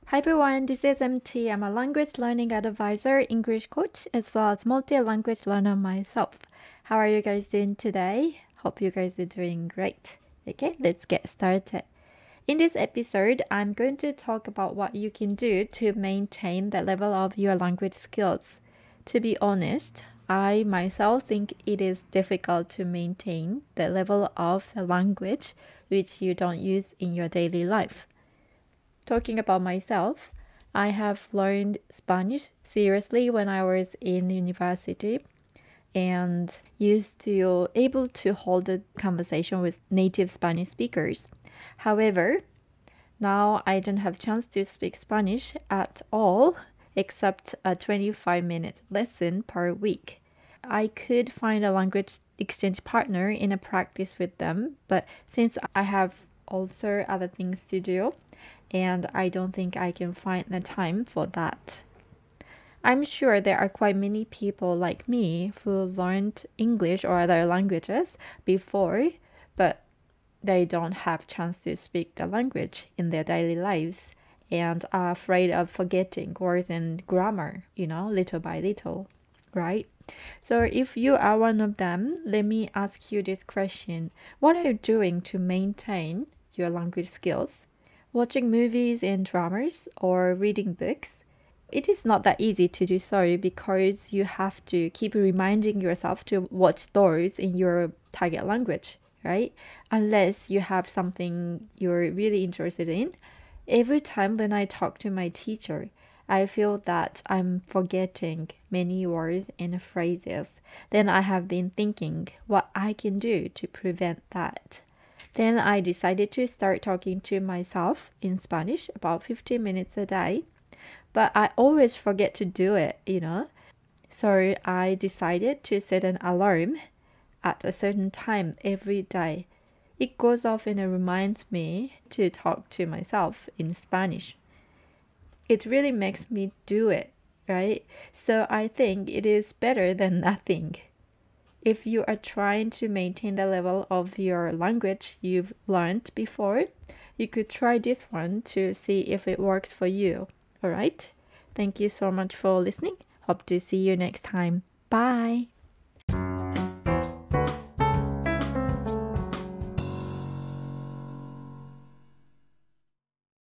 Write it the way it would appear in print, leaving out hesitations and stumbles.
Hi everyone, this is MT. I'm a language learning advisor, English coach, as well as multi-language learner myself. How are you guys doing today? Hope you guys are doing great. Okay, let's get started. In this episode, I'm going to talk about what you can do to maintain the level of your language skills. To be honest, I myself think it is difficult to maintain the level of the language which you don't use in your daily life. Talking about myself, I have learned Spanish seriously when I was in university and used to able to hold a conversation with native Spanish speakers. However, now I don't have chance to speak Spanish at all except a 25-minute lesson per week. I could find a language exchange partner in a practice with them, but since I have also other things to do, and I don't think I can find the time for that. I'm sure there are quite many people like me who learned English or other languages before, but they don't have chance to speak the language in their daily lives and are afraid of forgetting words and grammar, little by little, right? So if you are one of them, let me ask you this question. What are you doing to maintain your language skills? Watching movies and dramas or reading books? It is not that easy to do so because you have to keep reminding yourself to watch those in your target language, right? Unless you have something you're really interested in. Every time when I talk to my teacher, I feel that I'm forgetting many words and phrases. Then I have been thinking what I can do to prevent that. Then I decided to start talking to myself in Spanish about 15 minutes a day. But I always forget to do it. So I decided to set an alarm at a certain time every day. It goes off and it reminds me to talk to myself in Spanish. It really makes me do it, right? So I think it is better than nothing. If you are trying to maintain the level of your language you've learned before, you could try this one to see if it works for you. All right? Thank you so much for listening. Hope to see you next time. Bye.